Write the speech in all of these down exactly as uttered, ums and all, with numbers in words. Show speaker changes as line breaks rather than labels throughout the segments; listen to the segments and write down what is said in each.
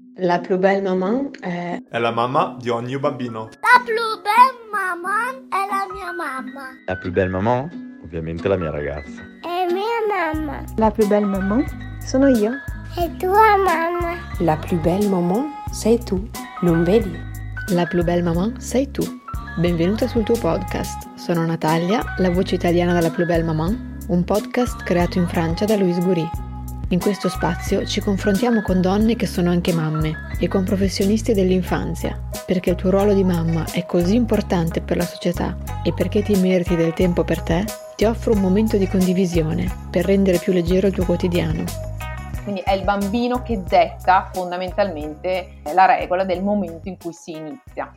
La più belle maman è...
È la mamma di ogni bambino.
La più bella mamma è la mia mamma.
La più belle maman? Ovviamente la mia ragazza.
È mia mamma.
La più belle maman sono io.
È tua mamma.
La più belle maman sei tu, non vedi?
La più belle maman sei tu. Benvenuta sul tuo podcast. Sono Natalia, la voce italiana della più belle maman, un podcast creato in Francia da Louise Goury. In questo spazio ci confrontiamo con donne che sono anche mamme e con professionisti dell'infanzia, perché il tuo ruolo di mamma è così importante per la società e perché ti meriti del tempo per te, ti offro un momento di condivisione per rendere più leggero il tuo quotidiano.
Quindi è il bambino che detta fondamentalmente la regola del momento in cui si inizia.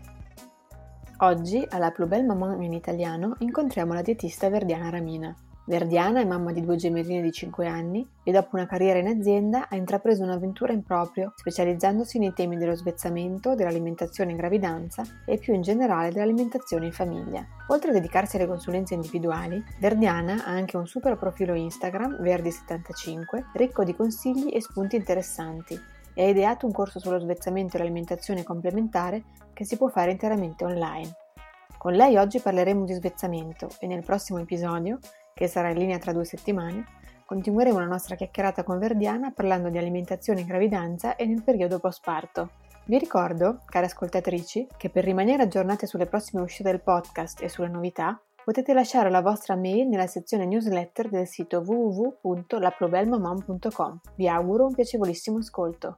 Oggi alla Plus Belle Maman in italiano incontriamo la dietista Verdiana Ramina. Verdiana è mamma di due gemelline di cinque anni e dopo una carriera in azienda ha intrapreso un'avventura in proprio, specializzandosi nei temi dello svezzamento, dell'alimentazione in gravidanza e più in generale dell'alimentazione in famiglia. Oltre a dedicarsi alle consulenze individuali, Verdiana ha anche un super profilo Instagram, Verdi settantacinque, ricco di consigli e spunti interessanti, e ha ideato un corso sullo svezzamento e l'alimentazione complementare che si può fare interamente online. Con lei oggi parleremo di svezzamento e nel prossimo episodio, che sarà in linea tra due settimane, continueremo la nostra chiacchierata con Verdiana parlando di alimentazione in gravidanza e nel periodo postparto. Vi ricordo, care ascoltatrici, che per rimanere aggiornate sulle prossime uscite del podcast e sulle novità, potete lasciare la vostra mail nella sezione newsletter del sito w w w punto la più belle maman punto com. Vi auguro un piacevolissimo ascolto.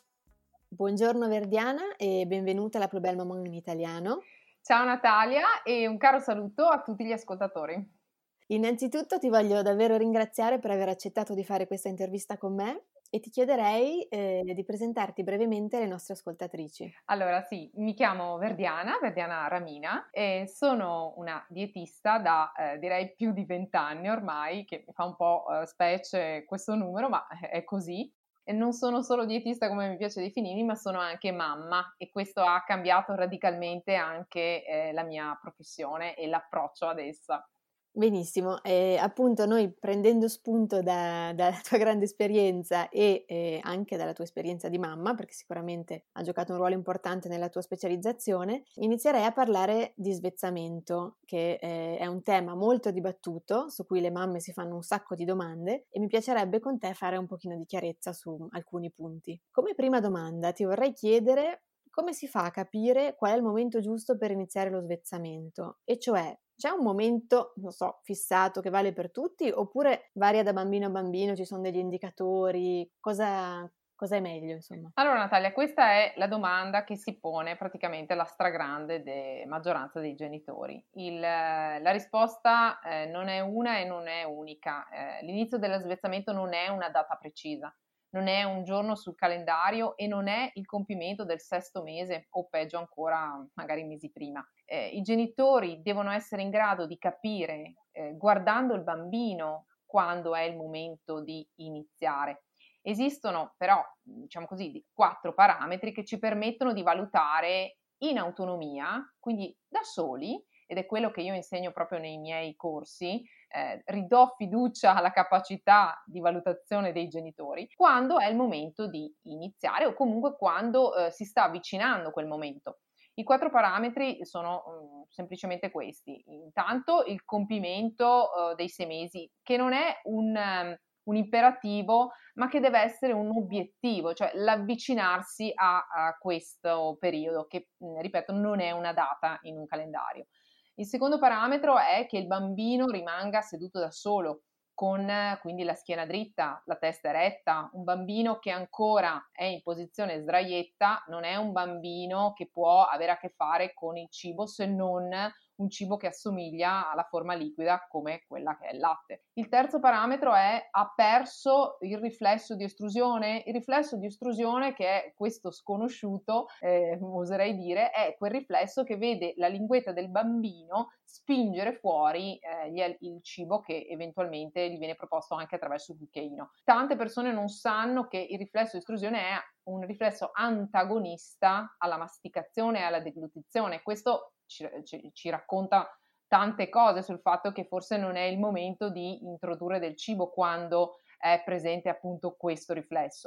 Buongiorno Verdiana e benvenuta alla Plus Belle Maman in italiano.
Ciao Natalia e un caro saluto a tutti gli ascoltatori.
Innanzitutto ti voglio davvero ringraziare per aver accettato di fare questa intervista con me e ti chiederei eh, di presentarti brevemente alle nostre ascoltatrici.
Allora sì, mi chiamo Verdiana, Verdiana Ramina e sono una dietista da eh, direi più di vent'anni ormai, che mi fa un po' eh, specie questo numero, ma è così. E non sono solo dietista come mi piace definirmi, ma sono anche mamma e questo ha cambiato radicalmente anche eh, la mia professione e l'approccio ad essa.
Benissimo, e appunto noi prendendo spunto da, dalla tua grande esperienza e eh, anche dalla tua esperienza di mamma, perché sicuramente ha giocato un ruolo importante nella tua specializzazione, inizierei a parlare di svezzamento, che eh, è un tema molto dibattuto, su cui le mamme si fanno un sacco di domande e mi piacerebbe con te fare un pochino di chiarezza su alcuni punti. Come prima domanda ti vorrei chiedere come si fa a capire qual è il momento giusto per iniziare lo svezzamento, e cioè c'è un momento, non so, fissato che vale per tutti oppure varia da bambino a bambino, ci sono degli indicatori, cosa, cosa è meglio insomma?
Allora Natalia, questa è la domanda che si pone praticamente la stragrande de- maggioranza dei genitori. Il, la risposta eh, non è una e non è unica, eh, l'inizio dello svezzamento non è una data precisa. Non è un giorno sul calendario e non è il compimento del sesto mese o peggio ancora magari mesi prima. Eh, I genitori devono essere in grado di capire, eh, guardando il bambino, quando è il momento di iniziare. Esistono però, diciamo così, quattro parametri che ci permettono di valutare in autonomia, quindi da soli, ed è quello che io insegno proprio nei miei corsi, eh, ridò fiducia alla capacità di valutazione dei genitori, quando è il momento di iniziare o comunque quando eh, si sta avvicinando quel momento. I quattro parametri sono um, semplicemente questi. Intanto il compimento uh, dei sei mesi, che non è un, um, un imperativo, ma che deve essere un obiettivo, cioè l'avvicinarsi a, a questo periodo, che, ripeto, non è una data in un calendario. Il secondo parametro è che il bambino rimanga seduto da solo, con quindi la schiena dritta, la testa eretta. Un bambino che ancora è in posizione sdraietta non è un bambino che può avere a che fare con il cibo, se non un cibo che assomiglia alla forma liquida come quella che è il latte. Il terzo parametro è: ha perso il riflesso di estrusione? Il riflesso di estrusione, che è questo sconosciuto, eh, oserei dire, è quel riflesso che vede la linguetta del bambino spingere fuori eh, il cibo che eventualmente gli viene proposto anche attraverso il cucchiaino. Tante persone non sanno che il riflesso di estrusione è un riflesso antagonista alla masticazione e alla deglutizione. Questo ci, ci, ci racconta tante cose sul fatto che forse non è il momento di introdurre del cibo quando è presente appunto questo riflesso.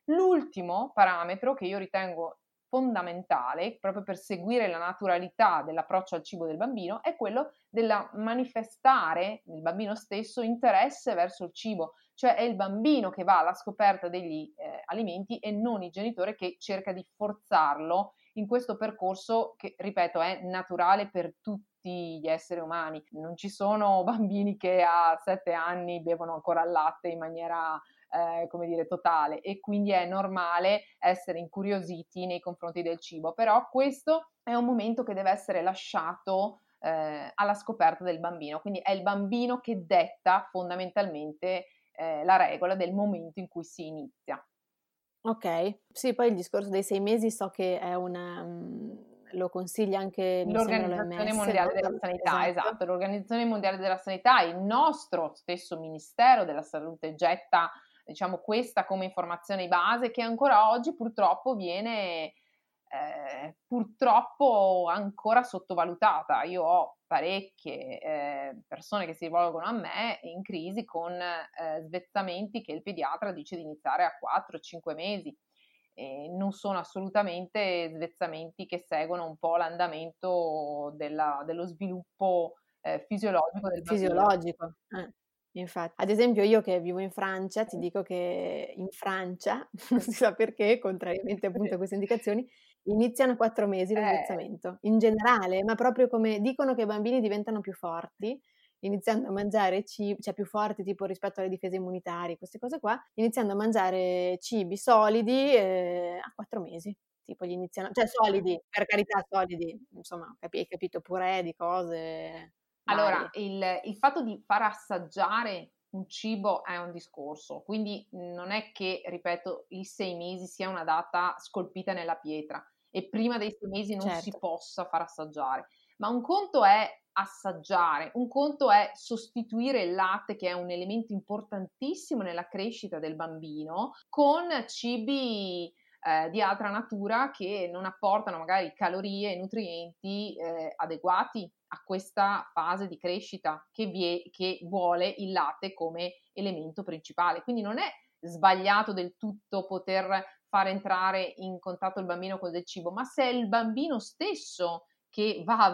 L'ultimo parametro che io ritengo fondamentale, proprio per seguire la naturalità dell'approccio al cibo del bambino, è quello della manifestare nel bambino stesso interesse verso il cibo, cioè è il bambino che va alla scoperta degli eh, alimenti e non il genitore che cerca di forzarlo in questo percorso che, ripeto, è naturale per tutti gli esseri umani. Non ci sono bambini che a sette anni bevono ancora il latte in maniera Eh, come dire, totale, e quindi è normale essere incuriositi nei confronti del cibo, però questo è un momento che deve essere lasciato eh, alla scoperta del bambino, quindi è il bambino che detta fondamentalmente eh, la regola del momento in cui si inizia.
Ok, sì, poi il discorso dei sei mesi so che è una... Um, lo consiglia anche mi sembra
l'Organizzazione
l'O M S,
Mondiale
no?
della Sanità,
Esatto.
esatto, l'Organizzazione Mondiale della Sanità, il nostro stesso Ministero della Salute getta, diciamo, questa come informazione base che ancora oggi purtroppo viene eh, purtroppo ancora sottovalutata. Io ho parecchie eh, persone che si rivolgono a me in crisi con eh, svezzamenti che il pediatra dice di iniziare a quattro cinque mesi. E non sono assolutamente svezzamenti che seguono un po' l'andamento della, dello sviluppo eh, fisiologico del bambino.
Fisiologico, eh, infatti. Ad esempio io che vivo in Francia, ti dico che in Francia, non si sa perché, contrariamente appunto a queste indicazioni, iniziano a quattro mesi lo
Eh.
svezzamento, in generale, ma proprio come dicono che i bambini diventano più forti, iniziando a mangiare cibi, cioè più forti tipo rispetto alle difese immunitarie, queste cose qua, iniziando a mangiare cibi solidi eh, a quattro mesi. Tipo gli iniziano, cioè solidi, per carità solidi, insomma, capi- hai capito, purè di cose
Allora,
varie.
il, il fatto di far assaggiare un cibo è un discorso, quindi non è che, ripeto, i sei mesi sia una data scolpita nella pietra e prima dei sei mesi non si
Certo.
possa far assaggiare, ma un conto è assaggiare, un conto è sostituire il latte, che è un elemento importantissimo nella crescita del bambino, con cibi eh, di altra natura che non apportano magari calorie e nutrienti eh, adeguati a questa fase di crescita che, vie, che vuole il latte come elemento principale. Quindi non è sbagliato del tutto poter far entrare in contatto il bambino con del cibo, ma se è il bambino stesso che va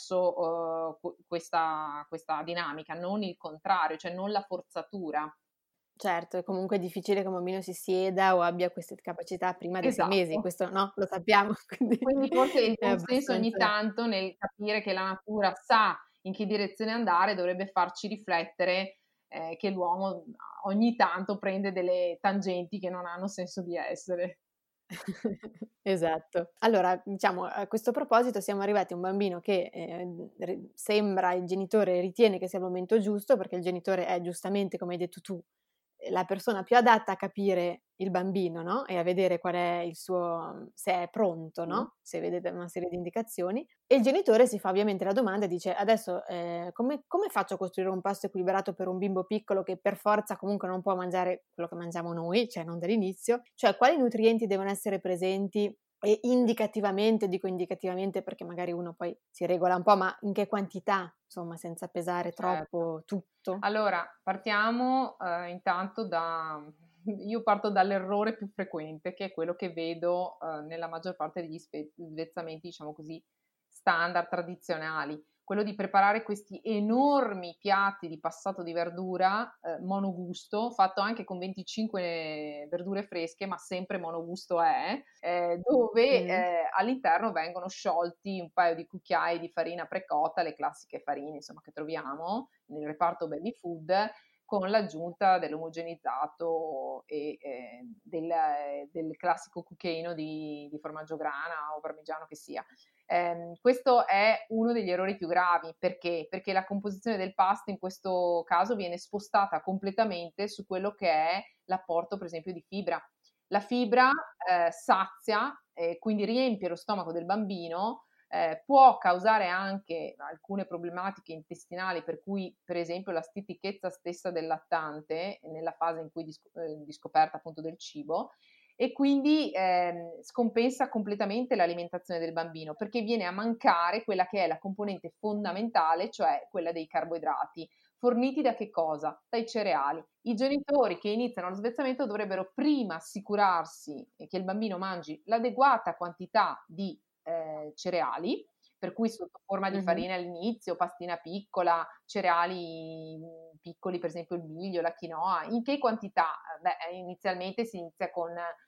verso uh, questa, questa dinamica, non il contrario, cioè non la forzatura.
Certo, è comunque difficile che un bambino si sieda o abbia queste capacità prima dei
Esatto.
sei mesi, questo no, lo sappiamo. Quindi,
quindi forse il
è
consenso
abbastanza...
ogni tanto nel capire che la natura sa in che direzione andare dovrebbe farci riflettere eh, che l'uomo ogni tanto prende delle tangenti che non hanno senso di essere.
Esatto. Allora, diciamo, a questo proposito siamo arrivati a un bambino che eh, sembra, il genitore ritiene che sia il momento giusto, perché il genitore è giustamente, come hai detto tu, la persona più adatta a capire il bambino, no? E a vedere qual è il suo, se è pronto, no? Mm. Se vede una serie di indicazioni. E il genitore si fa ovviamente la domanda e dice: adesso eh, come, come faccio a costruire un pasto equilibrato per un bimbo piccolo che per forza comunque non può mangiare quello che mangiamo noi, cioè non dall'inizio? Cioè quali nutrienti devono essere presenti? E indicativamente, dico indicativamente perché magari uno poi si regola un po', ma in che quantità, insomma, senza pesare troppo certo. Tutto?
Allora, partiamo eh, intanto da... Io parto dall'errore più frequente, che è quello che vedo eh, nella maggior parte degli spe- svezzamenti, diciamo così, standard, tradizionali. Quello di preparare questi enormi piatti di passato di verdura eh, monogusto, fatto anche con venticinque verdure fresche, ma sempre monogusto è, eh, dove mm. eh, all'interno vengono sciolti un paio di cucchiai di farina precotta, le classiche farine insomma che troviamo nel reparto baby food, con l'aggiunta dell'omogenizzato e eh, del, del classico cucchiaino di, di formaggio grana o parmigiano che sia. Eh, questo è uno degli errori più gravi. Perché? Perché la composizione del pasto in questo caso viene spostata completamente su quello che è l'apporto per esempio di fibra. La fibra eh, sazia e eh, quindi riempie lo stomaco del bambino, eh, può causare anche alcune problematiche intestinali, per cui per esempio la stitichezza stessa del lattante nella fase in cui di, eh, di scoperta appunto del cibo, e quindi eh, scompensa completamente l'alimentazione del bambino, perché viene a mancare quella che è la componente fondamentale, cioè quella dei carboidrati. forniti da che cosa? Dai cereali. I genitori che iniziano lo svezzamento dovrebbero prima assicurarsi che il bambino mangi l'adeguata quantità di eh, cereali, per cui sotto forma di
Mhm.
farina all'inizio, pastina piccola, cereali mh, piccoli, per esempio il miglio, la quinoa. In che quantità? Beh, inizialmente si inizia con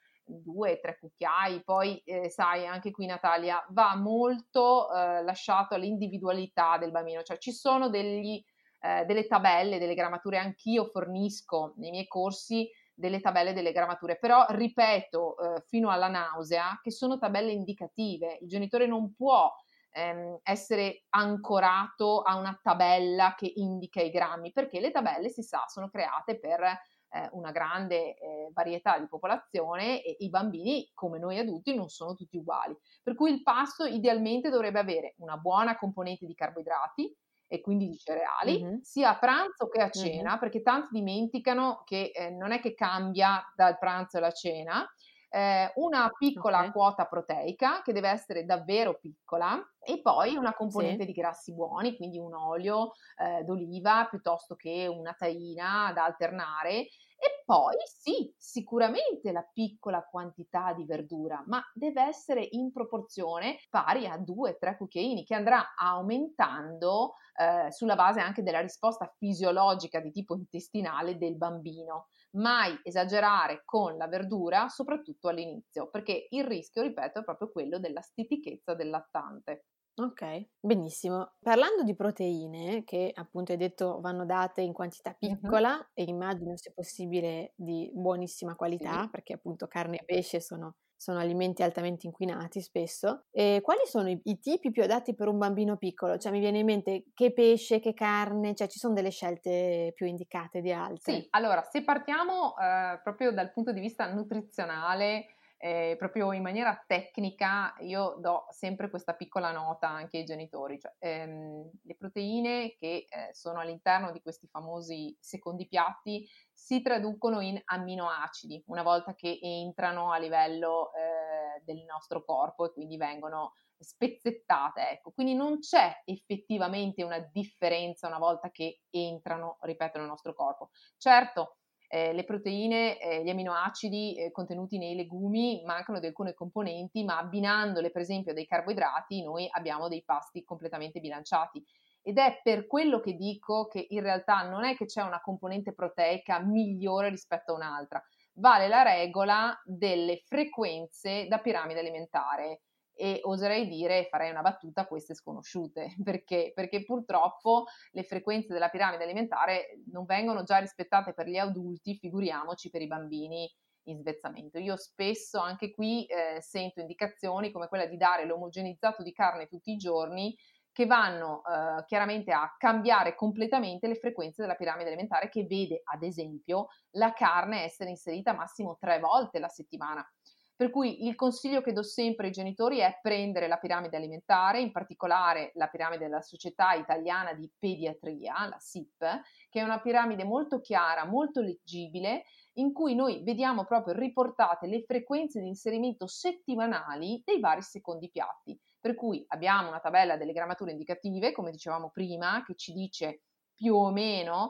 due, tre cucchiai, poi eh, sai, anche qui Natalia, va molto eh, lasciato all'individualità del bambino, cioè ci sono degli, eh, delle tabelle, delle grammature, anch'io fornisco nei miei corsi delle tabelle, delle grammature, però ripeto eh, fino alla nausea che sono tabelle indicative, il genitore non può ehm, essere ancorato a una tabella che indica i grammi, perché le tabelle, si sa, sono create per eh, una grande eh, varietà di popolazione e i bambini, come noi adulti, non sono tutti uguali. Per cui il pasto idealmente dovrebbe avere una buona componente di carboidrati e quindi di cereali,
Mhm.
sia a pranzo che a
Mhm.
cena, perché tanti dimenticano che eh, non è che cambia dal pranzo alla cena, eh, una piccola
Ok.
quota proteica che deve essere davvero piccola e poi una componente
Sì.
di grassi buoni, quindi un olio eh, d'oliva piuttosto che una taina da alternare. E poi sì, sicuramente la piccola quantità di verdura, ma deve essere in proporzione pari a due tre cucchiaini, che andrà aumentando eh, sulla base anche della risposta fisiologica di tipo intestinale del bambino. Mai esagerare con la verdura, soprattutto all'inizio, perché il rischio, ripeto, è proprio quello della stitichezza del lattante.
Ok, benissimo. Parlando di proteine, che appunto hai detto vanno date in quantità
Mhm.
piccola e immagino se possibile di buonissima
Sì.
qualità, perché appunto carne e pesce sono, sono alimenti altamente inquinati spesso. E quali sono i, i tipi più adatti per un bambino piccolo? Cioè mi viene in mente che pesce, che carne, cioè ci sono delle scelte più indicate di
Sì,
altre.
allora se partiamo eh, proprio dal punto di vista nutrizionale, eh, proprio in maniera tecnica, io do sempre questa piccola nota anche ai genitori, cioè ehm, le proteine che eh, sono all'interno di questi famosi secondi piatti si traducono in amminoacidi una volta che entrano a livello eh, del nostro corpo e quindi vengono spezzettate, ecco. Quindi non c'è effettivamente una differenza una volta che entrano, ripeto, nel nostro corpo. Certo, eh, le proteine, eh, gli aminoacidi eh, contenuti nei legumi mancano di alcune componenti, ma abbinandole per esempio a dei carboidrati noi abbiamo dei pasti completamente bilanciati. Ed è per quello che dico che in realtà non è che c'è una componente proteica migliore rispetto a un'altra, vale la regola delle frequenze da piramide alimentare e oserei dire, farei una battuta a queste sconosciute, perché? Perché purtroppo le frequenze della piramide alimentare non vengono già rispettate per gli adulti, figuriamoci per i bambini in svezzamento. Io spesso anche qui eh, sento indicazioni come quella di dare l'omogenizzato di carne tutti i giorni, che vanno eh, chiaramente a cambiare completamente le frequenze della piramide alimentare, che vede ad esempio la carne essere inserita massimo tre volte la settimana. Per cui il consiglio che do sempre ai genitori è prendere la piramide alimentare, in particolare la piramide della Società Italiana di Pediatria, la S I P, che è una piramide molto chiara, molto leggibile, in cui noi vediamo proprio riportate le frequenze di inserimento settimanali dei vari secondi piatti. Per cui abbiamo una tabella delle grammature indicative, come dicevamo prima, che ci dice più o meno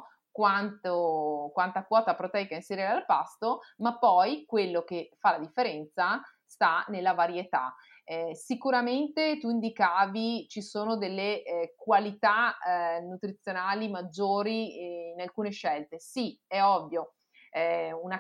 quanto, quanta quota proteica inserire al pasto, ma poi quello che fa la differenza sta nella varietà. Eh, sicuramente tu indicavi ci sono delle eh, qualità eh, nutrizionali maggiori eh, in alcune scelte. Sì, è ovvio, eh, una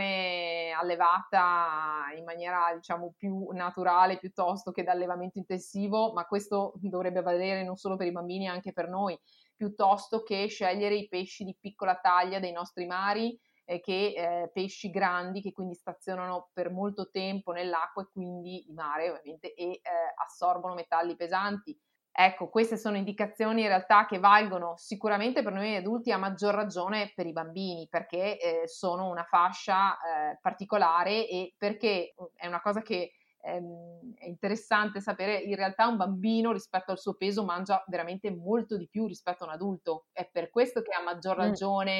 carne allevata in maniera diciamo più naturale piuttosto che da allevamento intensivo, ma questo dovrebbe valere non solo per i bambini, anche per noi, piuttosto che scegliere i pesci di piccola taglia dei nostri mari eh, che eh, pesci grandi che quindi stazionano per molto tempo nell'acqua e quindi di mare ovviamente e eh, assorbono metalli pesanti. Ecco, queste sono indicazioni in realtà che valgono sicuramente per noi adulti, a maggior ragione per i bambini, perché eh, sono una fascia eh, particolare e perché è una cosa che ehm, è interessante sapere, in realtà un bambino rispetto al suo peso mangia veramente molto di più rispetto a un adulto, è per questo che a maggior
Mm.
ragione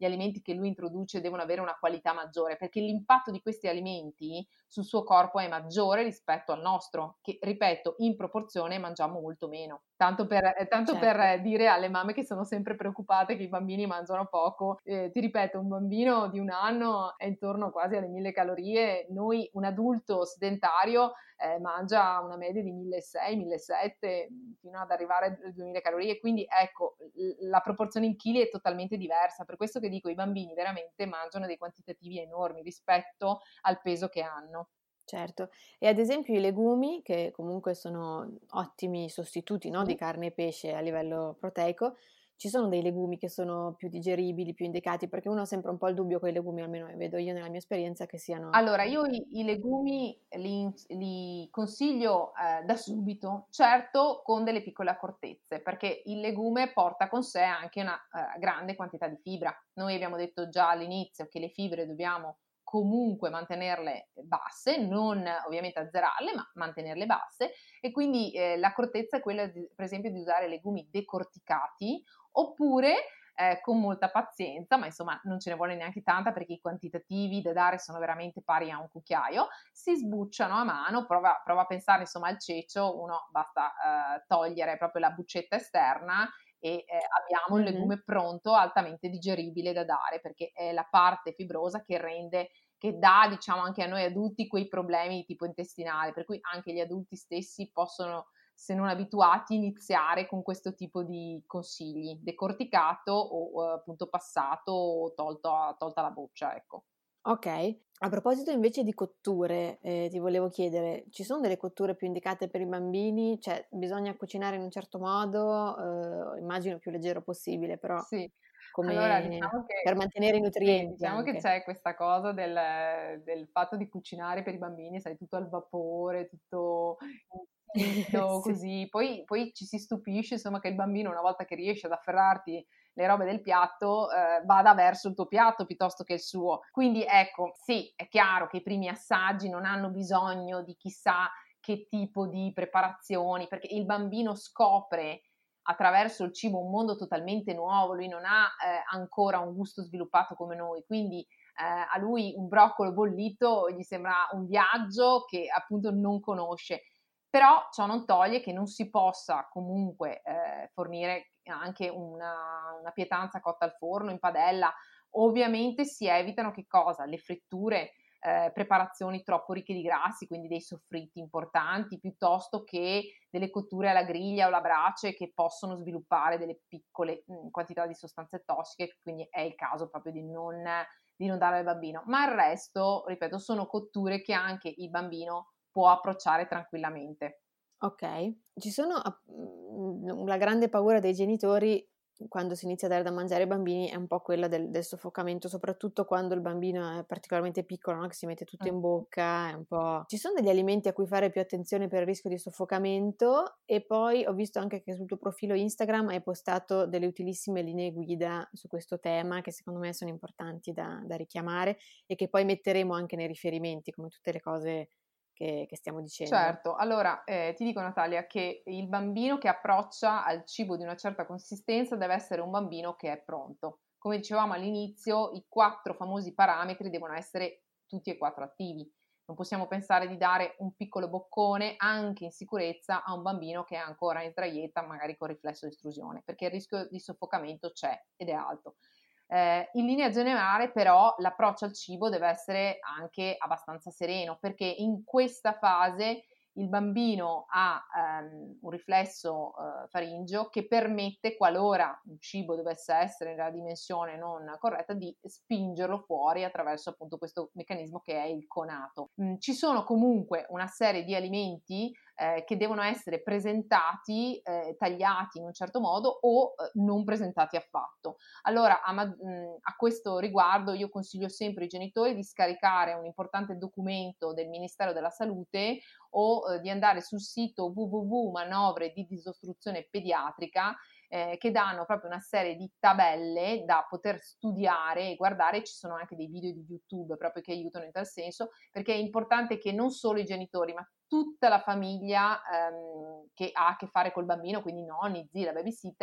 gli alimenti che lui introduce devono avere una qualità maggiore, perché l'impatto di questi alimenti sul suo corpo è maggiore rispetto al nostro, che ripeto, in proporzione mangiamo molto meno. Tanto per, eh, tanto
Certo.
per dire alle mamme che sono sempre preoccupate che i bambini mangiano poco, eh, ti ripeto, un bambino di un anno è intorno quasi alle mille calorie, noi un adulto sedentario eh, mangia una media di milleseicento millesettecento fino ad arrivare alle duemila calorie, quindi ecco, l- la proporzione in chili è totalmente diversa, per questo che dico i bambini veramente mangiano dei quantitativi enormi rispetto al peso che hanno.
Certo, e ad esempio i legumi, che comunque sono ottimi sostituti, no, di
Sì.
carne e pesce a livello proteico, ci sono dei legumi che sono più digeribili, più indicati, perché uno ha sempre un po' il dubbio con i legumi, almeno vedo io nella mia esperienza, che siano...
Allora, io i, i legumi li, li consiglio eh, da subito, certo con delle piccole accortezze, perché il legume porta con sé anche una eh, grande quantità di fibra. Noi abbiamo detto già all'inizio che le fibre dobbiamo comunque mantenerle basse, non ovviamente azzerarle, ma mantenerle basse, e quindi eh, l'accortezza è quella, di, per esempio, di usare legumi decorticati, oppure eh, con molta pazienza, ma insomma non ce ne vuole neanche tanta perché i quantitativi da dare sono veramente pari a un cucchiaio, si sbucciano a mano, prova, prova a pensare insomma al cecio, uno basta eh, togliere proprio la buccetta esterna e eh, abbiamo un
Mhm.
legume pronto, altamente digeribile da dare, perché è la parte fibrosa che rende, che dà diciamo anche a noi adulti quei problemi di tipo intestinale, per cui anche gli adulti stessi possono, se non abituati, iniziare con questo tipo di consigli, decorticato o eh, appunto passato o tolto, tolta la boccia, ecco.
Ok, a proposito invece di cotture, eh, ti volevo chiedere, ci sono delle cotture più indicate per i bambini? Cioè, bisogna cucinare in un certo modo, eh, immagino più leggero possibile, però
Sì, allora
come
diciamo
per
che,
mantenere i
sì,
nutrienti
diciamo che
anche.
c'è questa cosa del, del fatto di cucinare per i bambini, sai, tutto al vapore, tutto istinto,
Sì.
così. Poi, poi ci si stupisce, insomma, che il bambino, una volta che riesce ad afferrarti le robe del piatto, eh, vada verso il tuo piatto piuttosto che il suo. Quindi ecco, sì, è chiaro che i primi assaggi non hanno bisogno di chissà che tipo di preparazioni, perché il bambino scopre attraverso il cibo un mondo totalmente nuovo, lui non ha eh, ancora un gusto sviluppato come noi, quindi eh, a lui un broccolo bollito gli sembra un viaggio che appunto non conosce, però ciò non toglie che non si possa comunque eh, fornire anche una, una pietanza cotta al forno in padella. Ovviamente si evitano che cosa? Le fritture, eh, preparazioni troppo ricche di grassi, quindi dei soffritti importanti, piuttosto che delle cotture alla griglia o alla brace che possono sviluppare delle piccole mh, quantità di sostanze tossiche, quindi è il caso proprio di non, di non dare al bambino. Ma il resto, ripeto, sono cotture che anche il bambino può approcciare tranquillamente.
Ok, ci sono app- mm, la grande paura dei genitori quando si inizia a dare da mangiare ai bambini è un po' quella del, del soffocamento, soprattutto quando il bambino è particolarmente piccolo, no? Che si mette tutto in bocca, è un po'... Ci sono degli alimenti a cui fare più attenzione per il rischio di soffocamento? E poi ho visto anche che sul tuo profilo Instagram hai postato delle utilissime linee guida su questo tema che secondo me sono importanti da, da richiamare e che poi metteremo anche nei riferimenti, come tutte le cose che, che stiamo dicendo.
Certo, allora eh, ti dico Natalia che il bambino che approccia al cibo di una certa consistenza deve essere un bambino che è pronto. Come dicevamo all'inizio, i quattro famosi parametri devono essere tutti e quattro attivi. Non possiamo pensare di dare un piccolo boccone anche in sicurezza a un bambino che è ancora in traietta, magari con riflesso di estrusione, perché il rischio di soffocamento c'è ed è alto. Eh, in linea generale però l'approccio al cibo deve essere anche abbastanza sereno, perché in questa fase il bambino ha ehm, un riflesso eh, faringeo che permette, qualora un cibo dovesse essere nella dimensione non corretta, di spingerlo fuori attraverso appunto questo meccanismo che è il conato. Mm, ci sono comunque una serie di alimenti eh, che devono essere presentati, eh, tagliati in un certo modo o eh, non presentati affatto. Allora, a, mh, a questo riguardo io consiglio sempre ai genitori di scaricare un importante documento del Ministero della Salute o eh, di andare sul sito w w w punto manovre di disostruzione pediatrica eh, che danno proprio una serie di tabelle da poter studiare e guardare. Ci sono anche dei video di YouTube proprio che aiutano in tal senso, perché è importante che non solo i genitori, ma tutta la famiglia ehm, che ha a che fare col bambino, quindi nonni, zii, la babysitter,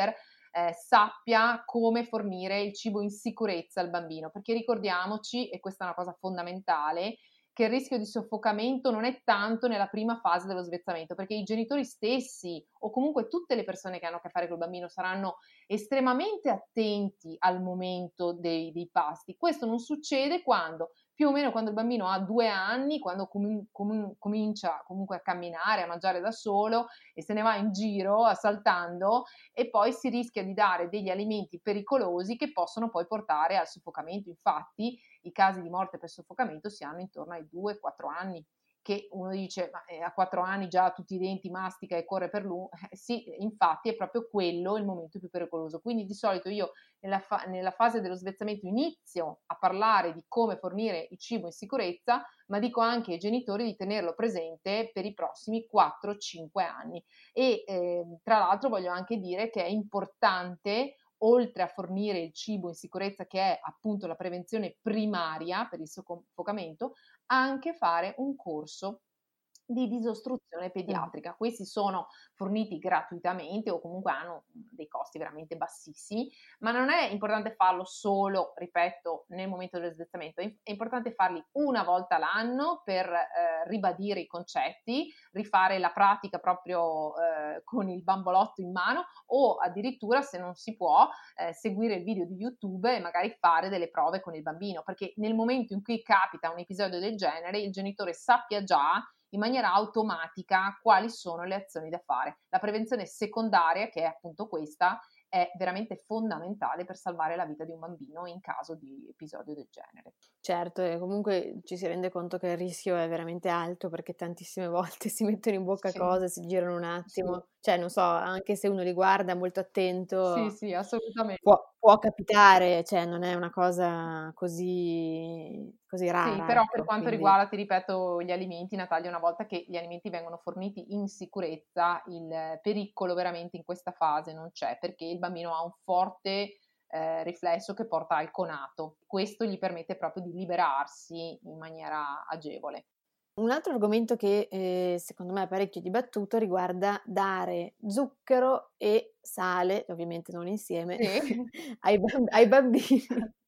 eh, sappia come fornire il cibo in sicurezza al bambino, perché ricordiamoci, e questa è una cosa fondamentale, che il rischio di soffocamento non è tanto nella prima fase dello svezzamento, perché i genitori stessi o comunque tutte le persone che hanno a che fare col bambino saranno estremamente attenti al momento dei, dei pasti. Questo non succede quando, più o meno quando il bambino ha due anni, quando com- com- comincia comunque a camminare, a mangiare da solo e se ne va in giro saltando, e poi si rischia di dare degli alimenti pericolosi che possono poi portare al soffocamento. Infatti i casi di morte per soffocamento si hanno intorno ai due quattro anni, che uno dice ma eh, a quattro anni già tutti i denti mastica e corre per lui, eh, sì, infatti è proprio quello il momento più pericoloso. Quindi di solito io nella, fa- nella fase dello svezzamento inizio a parlare di come fornire il cibo in sicurezza, ma dico anche ai genitori di tenerlo presente per i prossimi quattro cinque anni. E eh, tra l'altro voglio anche dire che è importante, oltre a fornire il cibo in sicurezza, che è appunto la prevenzione primaria per il soffocamento, anche fare un corso di disostruzione pediatrica. Mm. Questi sono forniti gratuitamente o comunque hanno dei costi veramente bassissimi, ma non è importante farlo solo, ripeto, nel momento dello svezzamento, è importante farli una volta l'anno per eh, ribadire i concetti, rifare la pratica proprio eh, con il bambolotto in mano, o addirittura, se non si può, eh, seguire il video di YouTube e magari fare delle prove con il bambino, perché nel momento in cui capita un episodio del genere il genitore sappia già in maniera automatica quali sono le azioni da fare. La prevenzione secondaria, che è appunto questa, è veramente fondamentale per salvare la vita di un bambino in caso di episodio del genere.
Certo, e comunque ci si rende conto che il rischio è veramente alto, perché tantissime volte si mettono in bocca
sì.
cose, si girano un attimo,
sì.
cioè non so, anche se uno li guarda molto attento,
sì, sì, assolutamente.
Può, può capitare, cioè non è una cosa così, così rara.
Sì, però
ecco,
per quanto
quindi...
riguarda, ti ripeto, gli alimenti, Natalia, una volta che gli alimenti vengono forniti in sicurezza, il pericolo veramente in questa fase non c'è, perché il bambino ha un forte eh, riflesso che porta al conato. Questo gli permette proprio di liberarsi in maniera agevole.
Un altro argomento che eh, secondo me è parecchio dibattuto riguarda dare zucchero e sale, ovviamente non insieme, sì. ai, bamb- ai bambini,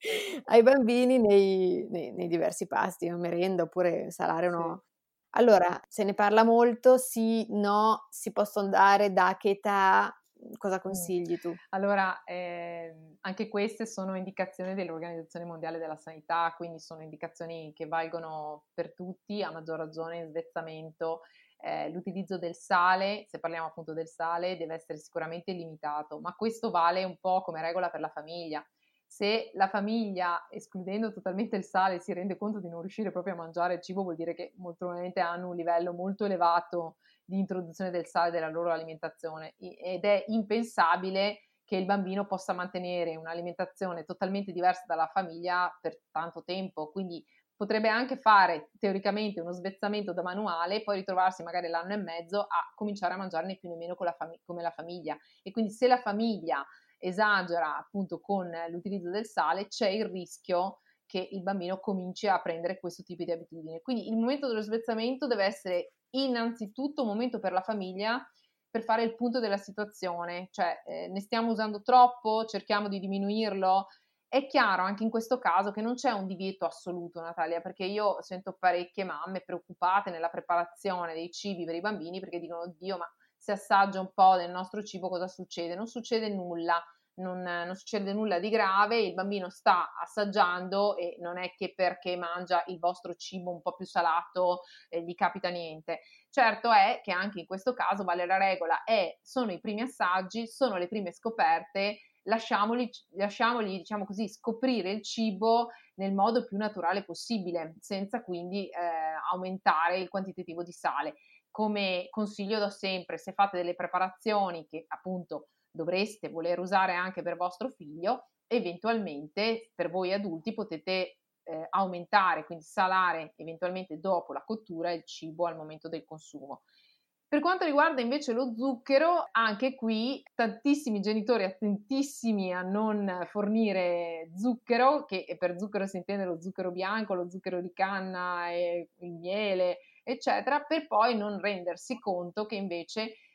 ai bambini nei, nei, nei diversi pasti, o merenda oppure salare o no. Sì. Allora, se ne parla molto, sì, no, si possono dare, da che età? Cosa consigli tu?
Allora, eh, anche queste sono indicazioni dell'Organizzazione Mondiale della Sanità, quindi sono indicazioni che valgono per tutti, a maggior ragione in svezzamento. Eh, l'utilizzo del sale, se parliamo appunto del sale, deve essere sicuramente limitato, ma questo vale un po' come regola per la famiglia. Se la famiglia, escludendo totalmente il sale, si rende conto di non riuscire proprio a mangiare il cibo, vuol dire che molto probabilmente hanno un livello molto elevato di introduzione del sale della loro alimentazione, ed è impensabile che il bambino possa mantenere un'alimentazione totalmente diversa dalla famiglia per tanto tempo. Quindi potrebbe anche fare teoricamente uno svezzamento da manuale e poi ritrovarsi magari l'anno e mezzo a cominciare a mangiare né più né meno con la fam- come la famiglia. E quindi se la famiglia esagera appunto con l'utilizzo del sale, c'è il rischio che il bambino cominci a prendere questo tipo di abitudini. Quindi il momento dello svezzamento deve essere innanzitutto un momento per la famiglia per fare il punto della situazione, cioè eh, ne stiamo usando troppo, cerchiamo di diminuirlo. È chiaro anche in questo caso che non c'è un divieto assoluto, Natalia, perché io sento parecchie mamme preoccupate nella preparazione dei cibi per i bambini perché dicono: oddio, ma se assaggio un po' del nostro cibo cosa succede? Non succede nulla. Non, non succede nulla di grave, il bambino sta assaggiando e non è che perché mangia il vostro cibo un po' più salato eh, gli capita niente. Certo è che anche in questo caso vale la regola, è, sono i primi assaggi, sono le prime scoperte, lasciamoli, lasciamoli diciamo così, scoprire il cibo nel modo più naturale possibile, senza quindi eh, aumentare il quantitativo di sale. Come consiglio do sempre, se fate delle preparazioni che appunto dovreste voler usare anche per vostro figlio, eventualmente per voi adulti potete eh, aumentare, quindi salare eventualmente dopo la cottura il cibo al momento del consumo. Per quanto riguarda invece lo zucchero, anche qui tantissimi genitori attentissimi a non fornire zucchero, che per zucchero si intende lo zucchero bianco, lo zucchero di canna, e il miele, eccetera, per poi non rendersi conto che invece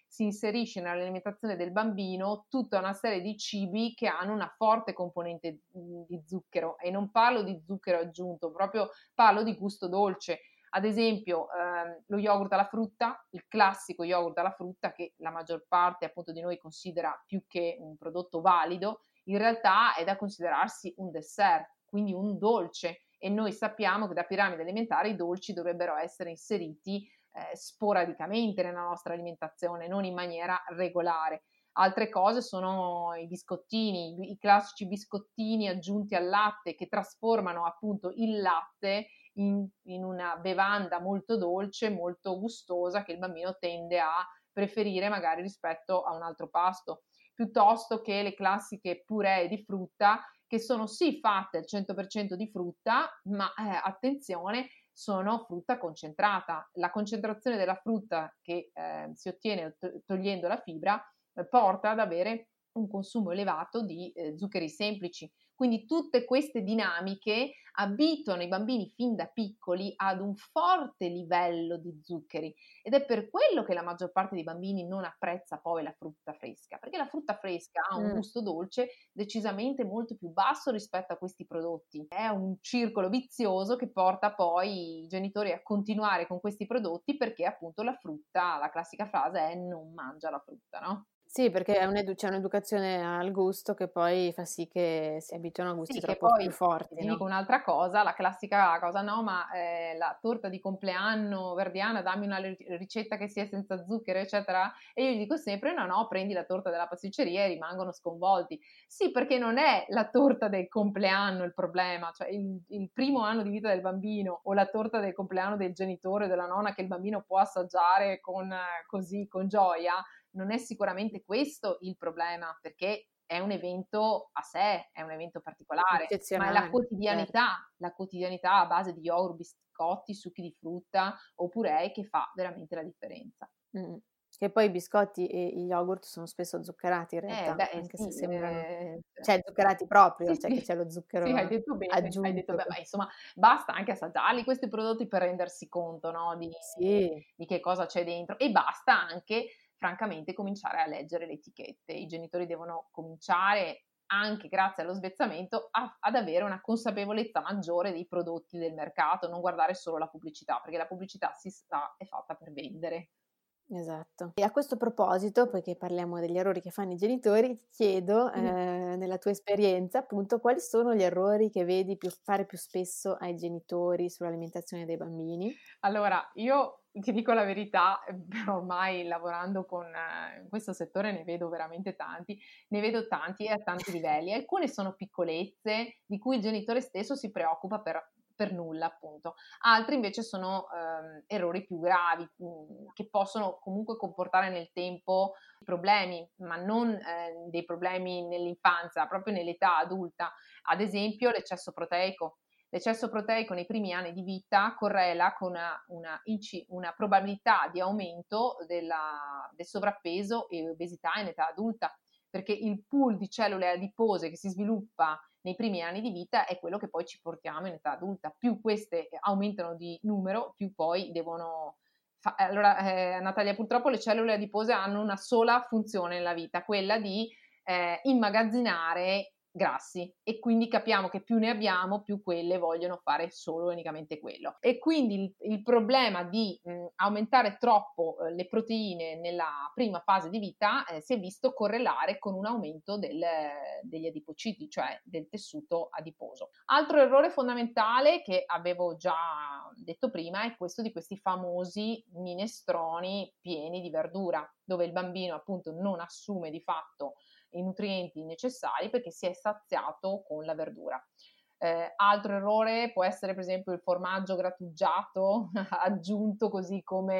si inserisce nell'alimentazione del bambino tutta una serie di cibi che hanno una forte componente di zucchero, e non parlo di zucchero aggiunto, proprio parlo di gusto dolce. Ad esempio ehm, lo yogurt alla frutta, il classico yogurt alla frutta, che la maggior parte appunto di noi considera più che un prodotto valido, in realtà è da considerarsi un dessert, quindi un dolce, e noi sappiamo che da piramide alimentare i dolci dovrebbero essere inseriti eh, sporadicamente nella nostra alimentazione, non in maniera regolare. Altre cose sono i biscottini, i classici biscottini aggiunti al latte, che trasformano appunto il latte in, in una bevanda molto dolce, molto gustosa, che il bambino tende a preferire magari rispetto a un altro pasto, piuttosto che le classiche puree di frutta, che sono sì fatte al cento per cento di frutta, ma eh, attenzione, sono frutta concentrata. La concentrazione della frutta che eh, si ottiene to- togliendo la fibra eh, porta ad avere un consumo elevato di eh, zuccheri semplici. Quindi tutte queste dinamiche abituano i bambini fin da piccoli ad un forte livello di zuccheri, ed è per quello che la maggior parte dei bambini non apprezza poi la frutta fresca, perché la frutta fresca ha un
Mm.
gusto dolce decisamente molto più basso rispetto a questi prodotti. È un circolo vizioso che porta poi i genitori a continuare con questi prodotti, perché appunto la frutta, la classica frase è non mangia la frutta, no?
Sì, perché è un'edu- c'è un'educazione al gusto che poi fa sì che si abituano a gusti
Sì, che
troppo più
poi
forti,
ti
no?
dico un'altra cosa, la classica cosa, no, ma eh, la torta di compleanno verdiana, dammi una ri- ricetta che sia senza zucchero, eccetera. E io gli dico sempre: no, no, prendi la torta della pasticceria, e rimangono sconvolti. Sì, perché non è la torta del compleanno il problema, cioè il, il primo anno di vita del bambino, o la torta del compleanno del genitore o della nonna che il bambino può assaggiare con, eh, così, con gioia. Non è sicuramente questo il problema, perché è un evento a sé, è un evento particolare, ma è la
Eccezionale, certo.
quotidianità, la quotidianità a base di yogurt, biscotti, succhi di frutta o puree che fa veramente la differenza.
Mm. Che poi i biscotti e gli yogurt sono spesso zuccherati in
Eh,
realtà,
beh,
anche se
sì,
sembrano,
eh,
cioè zuccherati proprio,
sì,
cioè che
sì,
c'è lo
sì, hai
zucchero
detto bene, hai detto
aggiunto.
bene, ma insomma, basta anche assaggiarli questi prodotti per rendersi conto, no, di,
Sì,
di che cosa c'è dentro, e basta anche, francamente, cominciare a leggere le etichette. I genitori devono cominciare, anche grazie allo svezzamento, a- ad avere una consapevolezza maggiore dei prodotti del mercato, non guardare solo la pubblicità, perché la pubblicità, si sa, è fatta per vendere.
esatto. E a questo proposito, poiché parliamo degli errori che fanno i genitori, ti chiedo, eh,
Mm.
nella tua esperienza, appunto, quali sono gli errori che vedi più, fare più spesso ai genitori sull'alimentazione dei bambini?
Allora, io ti dico la verità, eh, ormai lavorando con eh, in questo settore ne vedo veramente tanti, ne vedo tanti e a tanti livelli. Alcune sono piccolezze di cui il genitore stesso si preoccupa per, per nulla, appunto. Altri invece sono ehm, errori più gravi, mh, che possono comunque comportare nel tempo problemi, ma non eh, dei problemi nell'infanzia, proprio nell'età adulta. Ad esempio, l'eccesso proteico. L'eccesso proteico nei primi anni di vita correla con una, una, una probabilità di aumento della, del sovrappeso e obesità in età adulta, perché il pool di cellule adipose che si sviluppa nei primi anni di vita è quello che poi ci portiamo in età adulta. Più queste aumentano di numero, più poi devono... Fa- allora, eh, Natalia, purtroppo le cellule adipose hanno una sola funzione nella vita, quella di eh, immagazzinare grassi, e quindi capiamo che più ne abbiamo, più quelle vogliono fare solo e unicamente quello. E quindi il, il problema di mh, aumentare troppo eh, le proteine nella prima fase di vita eh, si è visto correlare con un aumento del, degli adipociti, cioè del tessuto adiposo. Altro errore fondamentale che avevo già detto prima è questo di questi famosi minestroni pieni di verdura, dove il bambino appunto non assume di fatto i nutrienti necessari perché si è saziato con la verdura. Eh, altro errore può essere per esempio il formaggio grattugiato aggiunto così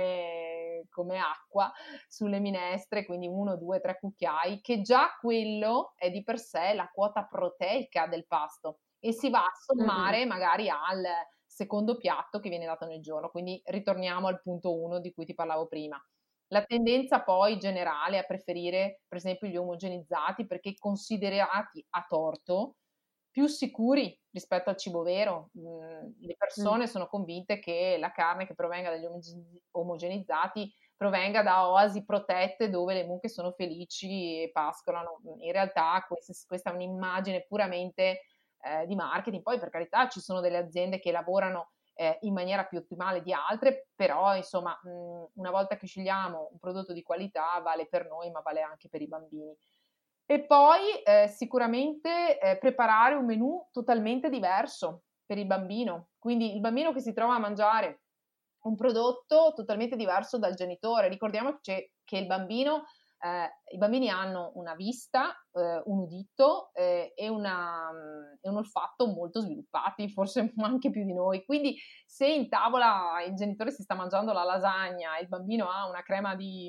come, come acqua sulle minestre, quindi uno, due, tre cucchiai, che già quello è di per sé la quota proteica del pasto e si va a sommare magari al secondo piatto che viene dato nel giorno. Quindi ritorniamo al punto uno di cui ti parlavo prima. La tendenza poi generale a preferire per esempio gli omogenizzati perché considerati a torto più sicuri rispetto al cibo vero. Mm, le persone sono convinte che la carne che provenga dagli omogenizzati provenga da oasi protette dove le mucche sono felici e pascolano. In realtà questa, questa è un'immagine puramente eh, di marketing. Poi per carità ci sono delle aziende che lavorano eh, in maniera più ottimale di altre, però insomma mh, una volta che scegliamo un prodotto di qualità vale per noi ma vale anche per i bambini. E poi eh, sicuramente eh, preparare un menù totalmente diverso per il bambino, quindi il bambino che si trova a mangiare un prodotto totalmente diverso dal genitore. Ricordiamoci che il bambino, eh, i bambini hanno una vista, eh, un udito eh, e, una, e un olfatto molto sviluppati, forse anche più di noi. Quindi se in tavola il genitore si sta mangiando la lasagna e il bambino ha una crema di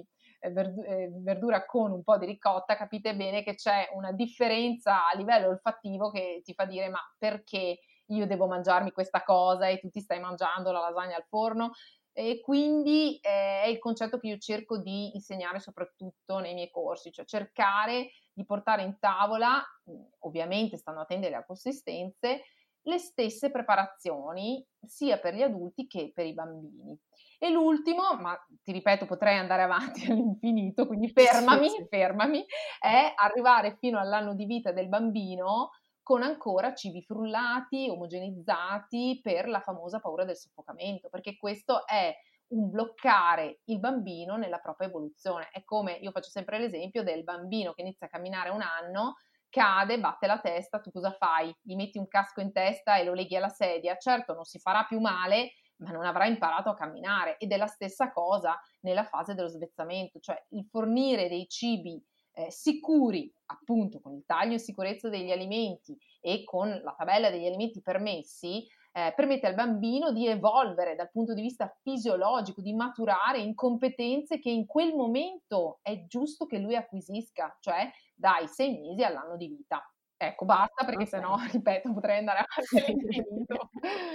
verdura con un po' di ricotta, capite bene che c'è una differenza a livello olfattivo che ti fa dire: ma perché io devo mangiarmi questa cosa e tu ti stai mangiando la lasagna al forno? E quindi eh, è il concetto che io cerco di insegnare soprattutto nei miei corsi, cioè cercare di portare in tavola, ovviamente stando attenti alle consistenze, le stesse preparazioni sia per gli adulti che per i bambini. E l'ultimo, ma ti ripeto potrei andare avanti all'infinito, quindi fermami, sì, sì. fermami, è arrivare fino all'anno di vita del bambino con ancora cibi frullati, omogenizzati, per la famosa paura del soffocamento, perché questo è un bloccare il bambino nella propria evoluzione. È come, io faccio sempre l'esempio del bambino che inizia a camminare a un anno, cade, batte la testa, tu cosa fai? Gli metti un casco in testa e lo leghi alla sedia? Certo, non si farà più male, ma non avrà imparato a camminare. Ed è la stessa cosa nella fase dello svezzamento, cioè il fornire dei cibi eh, sicuri, appunto con il taglio in sicurezza degli alimenti e con la tabella degli alimenti permessi, eh, permette al bambino di evolvere dal punto di vista fisiologico, di maturare in competenze che in quel momento è giusto che lui acquisisca, cioè dai sei mesi all'anno di vita. Ecco, basta, perché okay. sennò, ripeto, potrei andare avanti all'infinito.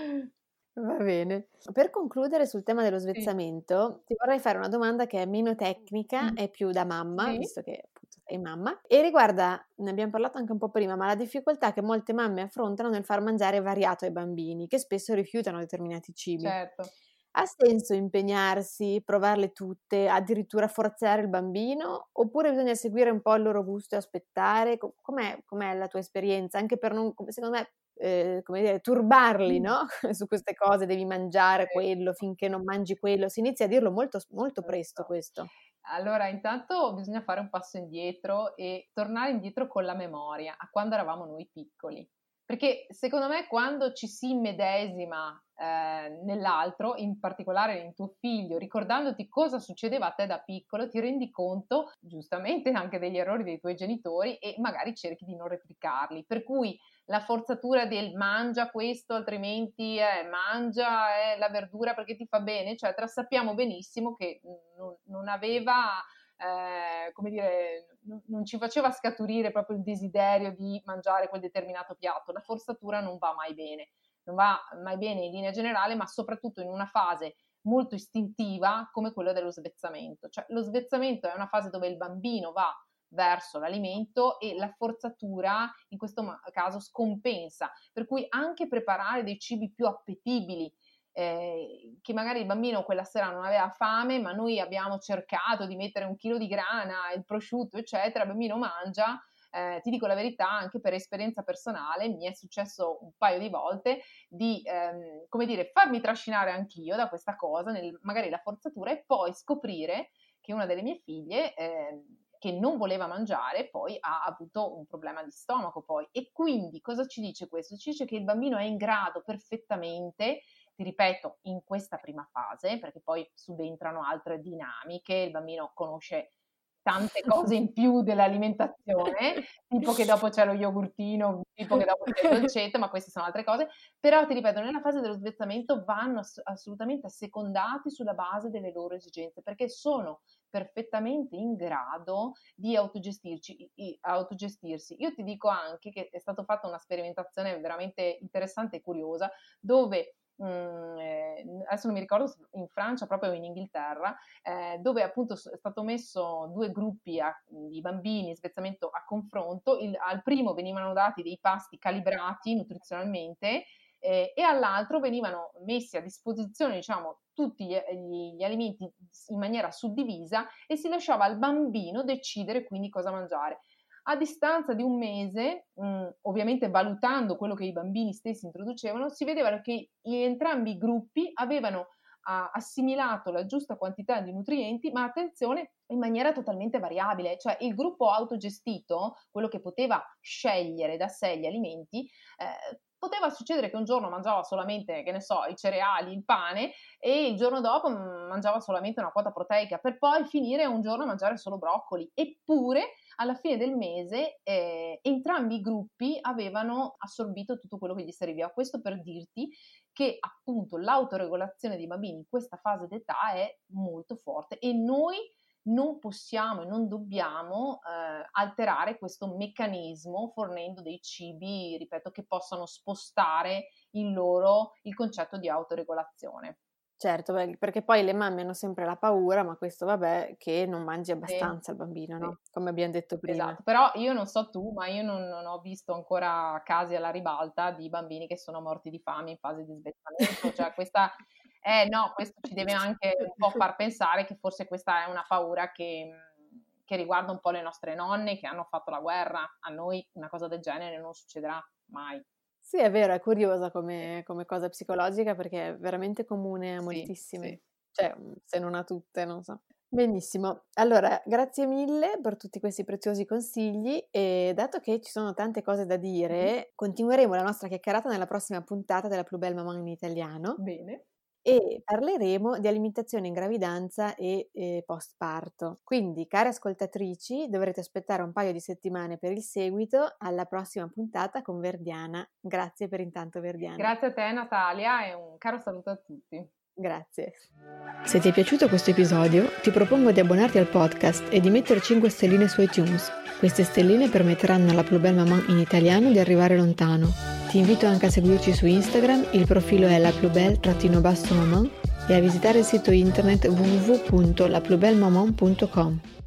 Va bene. Per concludere sul tema dello svezzamento, sì. ti vorrei fare una domanda che è meno tecnica, mm. è più da mamma, sì. visto che appunto sei mamma, e riguarda, ne abbiamo parlato anche un po' prima, ma la difficoltà che molte mamme affrontano nel far mangiare variato ai bambini, che spesso rifiutano determinati cibi.
Certo.
Ha senso impegnarsi, provarle tutte, addirittura forzare il bambino, oppure bisogna seguire un po' il loro gusto e aspettare? Com'è, com'è la tua esperienza? Anche per non, secondo me, eh, come dire, turbarli, no? Su queste cose, devi mangiare quello, finché non mangi quello. Si inizia a dirlo molto, molto presto questo.
Allora, intanto bisogna fare un passo indietro e tornare indietro con la memoria, a quando eravamo noi piccoli. Perché secondo me quando ci si immedesima eh, nell'altro, in particolare in tuo figlio, ricordandoti cosa succedeva a te da piccolo, ti rendi conto giustamente anche degli errori dei tuoi genitori e magari cerchi di non replicarli. Per cui la forzatura del mangia questo, altrimenti eh, mangia eh, la verdura perché ti fa bene, eccetera, sappiamo benissimo che non, non aveva... Eh, come dire, n- non ci faceva scaturire proprio il desiderio di mangiare quel determinato piatto. La forzatura non va mai bene, non va mai bene in linea generale, ma soprattutto in una fase molto istintiva come quella dello svezzamento. Cioè lo svezzamento è una fase dove il bambino va verso l'alimento e la forzatura in questo caso scompensa, per cui anche preparare dei cibi più appetibili, Eh, che magari il bambino quella sera non aveva fame, ma noi abbiamo cercato di mettere un chilo di grana, il prosciutto, eccetera, il bambino mangia. Eh, ti dico la verità, anche per esperienza personale, mi è successo un paio di volte di, ehm, come dire, farmi trascinare anch'io da questa cosa, nel, magari la forzatura, e poi scoprire che una delle mie figlie, eh, che non voleva mangiare, poi ha avuto un problema di stomaco poi. E quindi cosa ci dice questo? Ci dice che il bambino è in grado perfettamente, ti ripeto, in questa prima fase, perché poi subentrano altre dinamiche, il bambino conosce tante cose in più dell'alimentazione, tipo che dopo c'è lo yogurtino, tipo che dopo c'è il dolcetto, ma queste sono altre cose. Però ti ripeto, nella fase dello svezzamento vanno ass- assolutamente assecondati sulla base delle loro esigenze, perché sono perfettamente in grado di autogestirci, i- autogestirsi. Io ti dico anche che è stata fatta una sperimentazione veramente interessante e curiosa, dove Mm, eh, adesso non mi ricordo se in Francia, proprio in Inghilterra, eh, dove appunto è stato messo due gruppi a, di bambini, svezzamento a confronto. Il, al primo venivano dati dei pasti calibrati nutrizionalmente eh, e all'altro venivano messi a disposizione, diciamo, tutti gli, gli, gli alimenti in maniera suddivisa e si lasciava al bambino decidere quindi cosa mangiare. A distanza di un mese, mh, ovviamente valutando quello che i bambini stessi introducevano, si vedeva che entrambi i gruppi avevano uh, assimilato la giusta quantità di nutrienti, ma attenzione, in maniera totalmente variabile. Cioè il gruppo autogestito, quello che poteva scegliere da sé gli alimenti, eh, poteva succedere che un giorno mangiava solamente, che ne so, i cereali, il pane, e il giorno dopo mangiava solamente una quota proteica, per poi finire un giorno a mangiare solo broccoli. Eppure alla fine del mese eh, entrambi i gruppi avevano assorbito tutto quello che gli serviva. Questo per dirti che appunto l'autoregolazione dei bambini in questa fase d'età è molto forte e noi non possiamo e non dobbiamo eh, alterare questo meccanismo fornendo dei cibi, ripeto, che possano spostare in loro il concetto di autoregolazione.
Certo, beh, perché poi le mamme hanno sempre la paura, ma questo vabbè, che non mangi abbastanza
sì,
il bambino,
sì.
no? Come abbiamo detto prima.
Esatto, però io non so tu, ma io non, non ho visto ancora casi alla ribalta di bambini che sono morti di fame in fase di svezzamento, cioè questa, eh no, questo ci deve anche un po' far pensare che forse questa è una paura che, che riguarda un po' le nostre nonne che hanno fatto la guerra. A noi una cosa del genere non succederà mai.
Sì, è vero, è curiosa come, come cosa psicologica perché è veramente comune a
Sì,
moltissime,
sì.
cioè se non a tutte, non so. Benissimo, allora grazie mille per tutti questi preziosi consigli e dato che ci sono tante cose da dire,
Mm-hmm.
continueremo la nostra chiacchierata nella prossima puntata della Plus Belle Maman in italiano.
Bene.
E parleremo di alimentazione in gravidanza e eh, postparto. Quindi, care ascoltatrici, dovrete aspettare un paio di settimane per il seguito. Alla prossima puntata con Verdiana. Grazie per intanto, Verdiana.
Grazie a te, Natalia, e un caro saluto a tutti.
Grazie. Se ti è piaciuto questo episodio, ti propongo di abbonarti al podcast e di mettere cinque stelline su iTunes. Queste stelline permetteranno alla Plus Belle Maman in italiano di arrivare lontano. Ti invito anche a seguirci su Instagram, il profilo è la plus belle maman e a visitare il sito internet w w w punto la plus belle maman punto com.